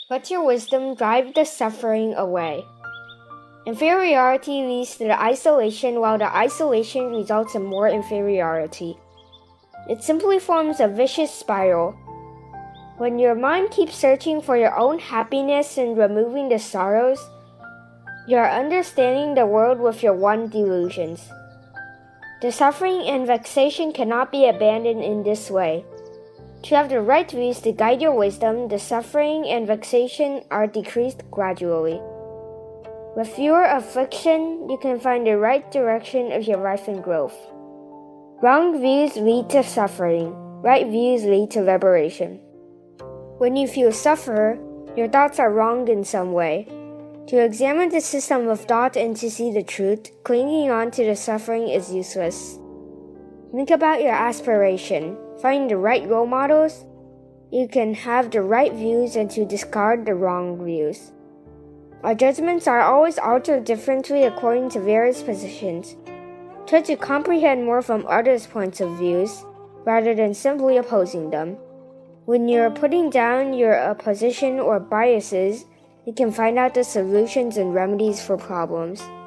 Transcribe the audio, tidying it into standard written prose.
Let your wisdom drive the suffering away. Inferiority leads to the isolation, while the isolation results in more inferiority. It simply forms a vicious spiral. When your mind keeps searching for your own happiness and removing the sorrows, you are understanding the world with your one delusions. The suffering and vexation cannot be abandoned in this way. To have the right views to guide your wisdom, the suffering and vexation are decreased gradually. With fewer affliction, you can find the right direction of your life and growth. Wrong views lead to suffering. Right views lead to liberation. When you feel suffer, your thoughts are wrong in some way. To examine the system of thought and to see the truth, clinging on to the suffering is useless. Think about your aspiration. Find the right role models. You can have the right views and to discard the wrong views. Our judgments are always altered differently according to various positions. Try to comprehend more from others' points of views, rather than simply opposing them. When you're putting down your opposition or biases, you can find out the solutions and remedies for problems.